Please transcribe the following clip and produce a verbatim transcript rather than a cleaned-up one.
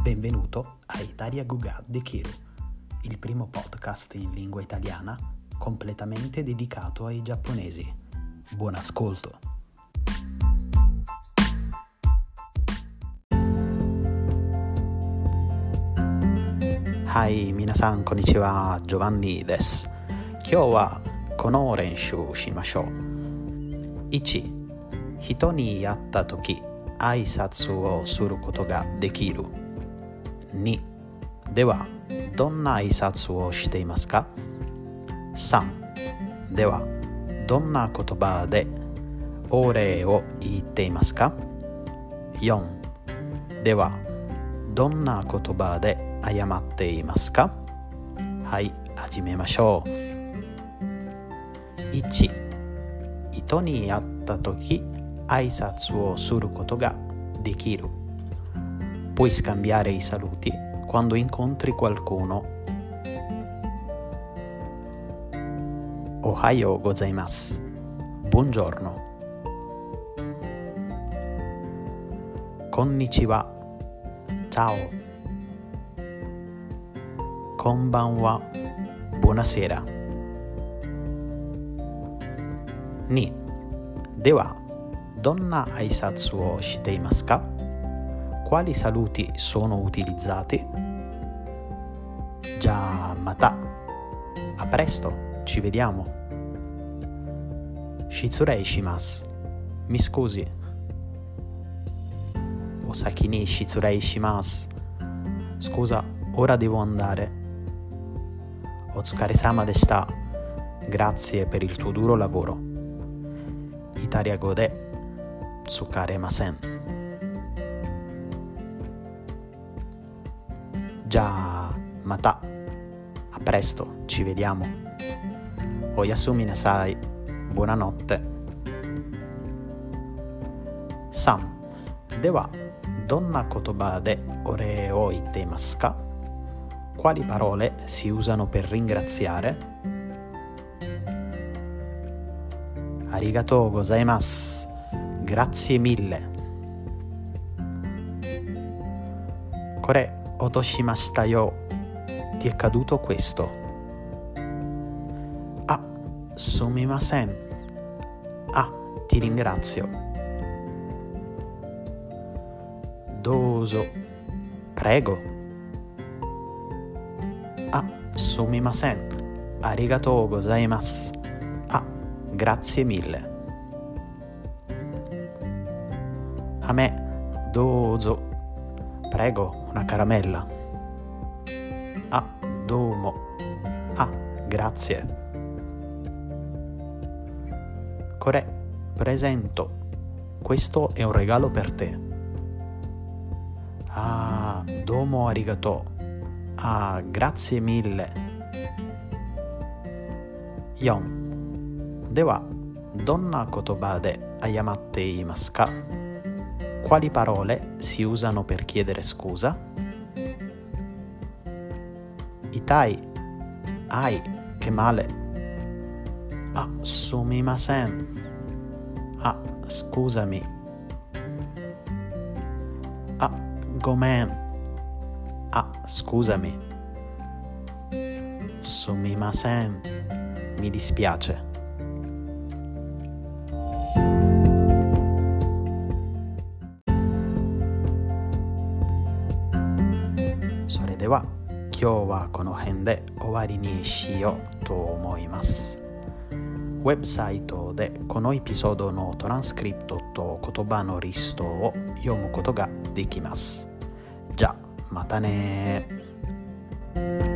Benvenuto a Italia Guga de Kiru, il primo podcast in lingua italiana completamente dedicato ai giapponesi. Buon ascolto! Hai, minasan konnichiwa, Giovanni desu. Kyou wa kono renshū shimashou. Ichi. 人に会ったとき、挨拶をすることができる。に. では、どんな挨拶をしていますか？ さん. では、どんな言葉でお礼を言っていますか？ よん. では、どんな言葉で謝っていますか？はい、始めましょう。いち. 人に会ったとき、挨拶をすることができる。Puoi scambiare i saluti quando incontri qualcuno. Ohayou gozaimasu. Buongiorno. Konnichiwa. Ciao. Konbanwa. Buonasera. Ni. では、どんな挨拶をしていますか？ Quali saluti sono utilizzati? Già, mata. A presto, ci vediamo. Shitsurei shimasu. Mi scusi. Osaki ni shitsurei shimasu. Scusa, ora devo andare. Otsukare-sama deshita. Grazie per il tuo duro lavoro. Italia go de tsukaremasen. Già, mata. A presto, ci vediamo. Oyasumi nasai. Buonanotte. Sam. では、どんな言葉でお礼を言っていますか？ Quali parole si usano per ringraziare? Arigatou gozaimasu. Grazie mille. Kore otoshimashita yo. Ti è caduto questo. Ah, sumimasen. Ah, ti ringrazio. Dozo. Prego. Ah, sumimasen. Arigatou gozaimasu. Ah, grazie mille. A me, dozo. Prego, una caramella. Ah, domo. Ah, grazie. Kore, presento. Questo è un regalo per te. Ah, domo arigatou. Ah, grazie mille.よん. では、どんな言葉で謝っていますか？ Quali parole si usano per chiedere scusa? Itai. Ai, che male. Ah, sumimasen. Ah, scusami. Ah, gomen. Ah, scusami. Sumimasen. Mi dispiace. それでは今日はこの辺で終わりにしようと思います。ウェブサイトでこのエピソードのトランスクリプトと言葉のリストを読むことができます。じゃあまたね。